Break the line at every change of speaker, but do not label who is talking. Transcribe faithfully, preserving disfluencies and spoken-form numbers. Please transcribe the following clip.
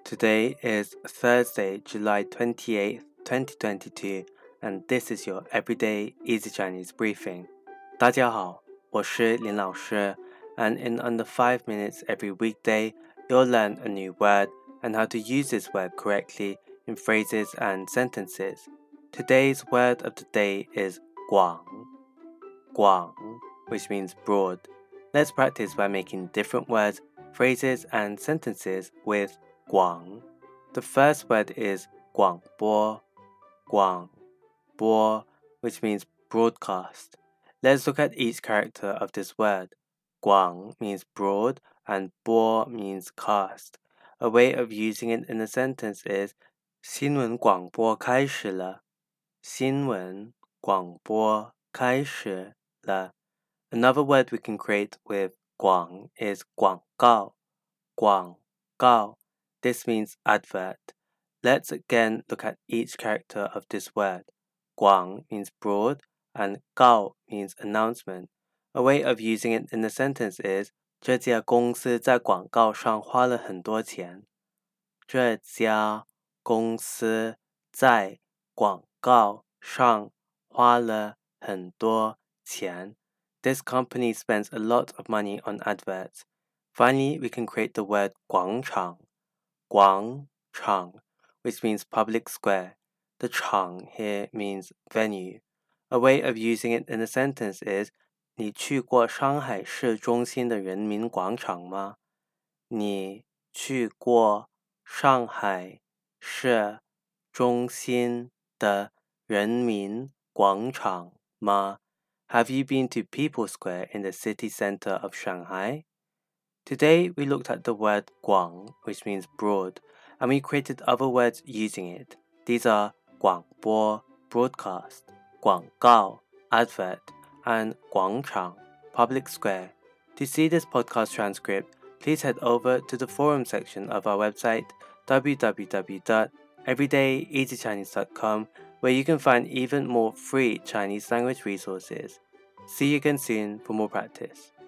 Today is Thursday, July twenty-eighth, twenty twenty-two, and this is your Everyday Easy Chinese Briefing. 大家好，我是林老师, and in under five minutes every weekday, you'll learn a new word and how to use this word correctly in phrases and sentences. Today's word of the day is 广, 广, which means broad. Let's practice by making different words, phrases, and sentences with 广. The first word is 广播, 广播, which means broadcast. Let's look at each character of this word. 广 means broad and 播 means cast. A way of using it in a sentence is 新闻广播开始了. 新闻广播开始了. Another word we can create with 广 is 广告, 广告. This means advert. Let's again look at each character of this word. 广 means broad and 告 means announcement. A way of using it in a sentence is 这家公司在广告上花了很多钱. 这家公司在广告上花了很多钱. This company spends a lot of money on adverts. Finally, we can create the word 广场, 广场, which means public square. The 场 here means venue. A way of using it in a sentence is 你去过上海市中心的人民广场吗? 你去过上海市中心的人民广场吗? Have you been to People Square in the city center of Shanghai? Today, we looked at the word 广, which means broad, and we created other words using it. These are 广播, broadcast, 广告, advert, and 广场, public square. To see this podcast transcript, please head over to the forum section of our website, w w w dot everyday easy chinese dot com, where you can find even more free Chinese language resources. See you again soon for more practice.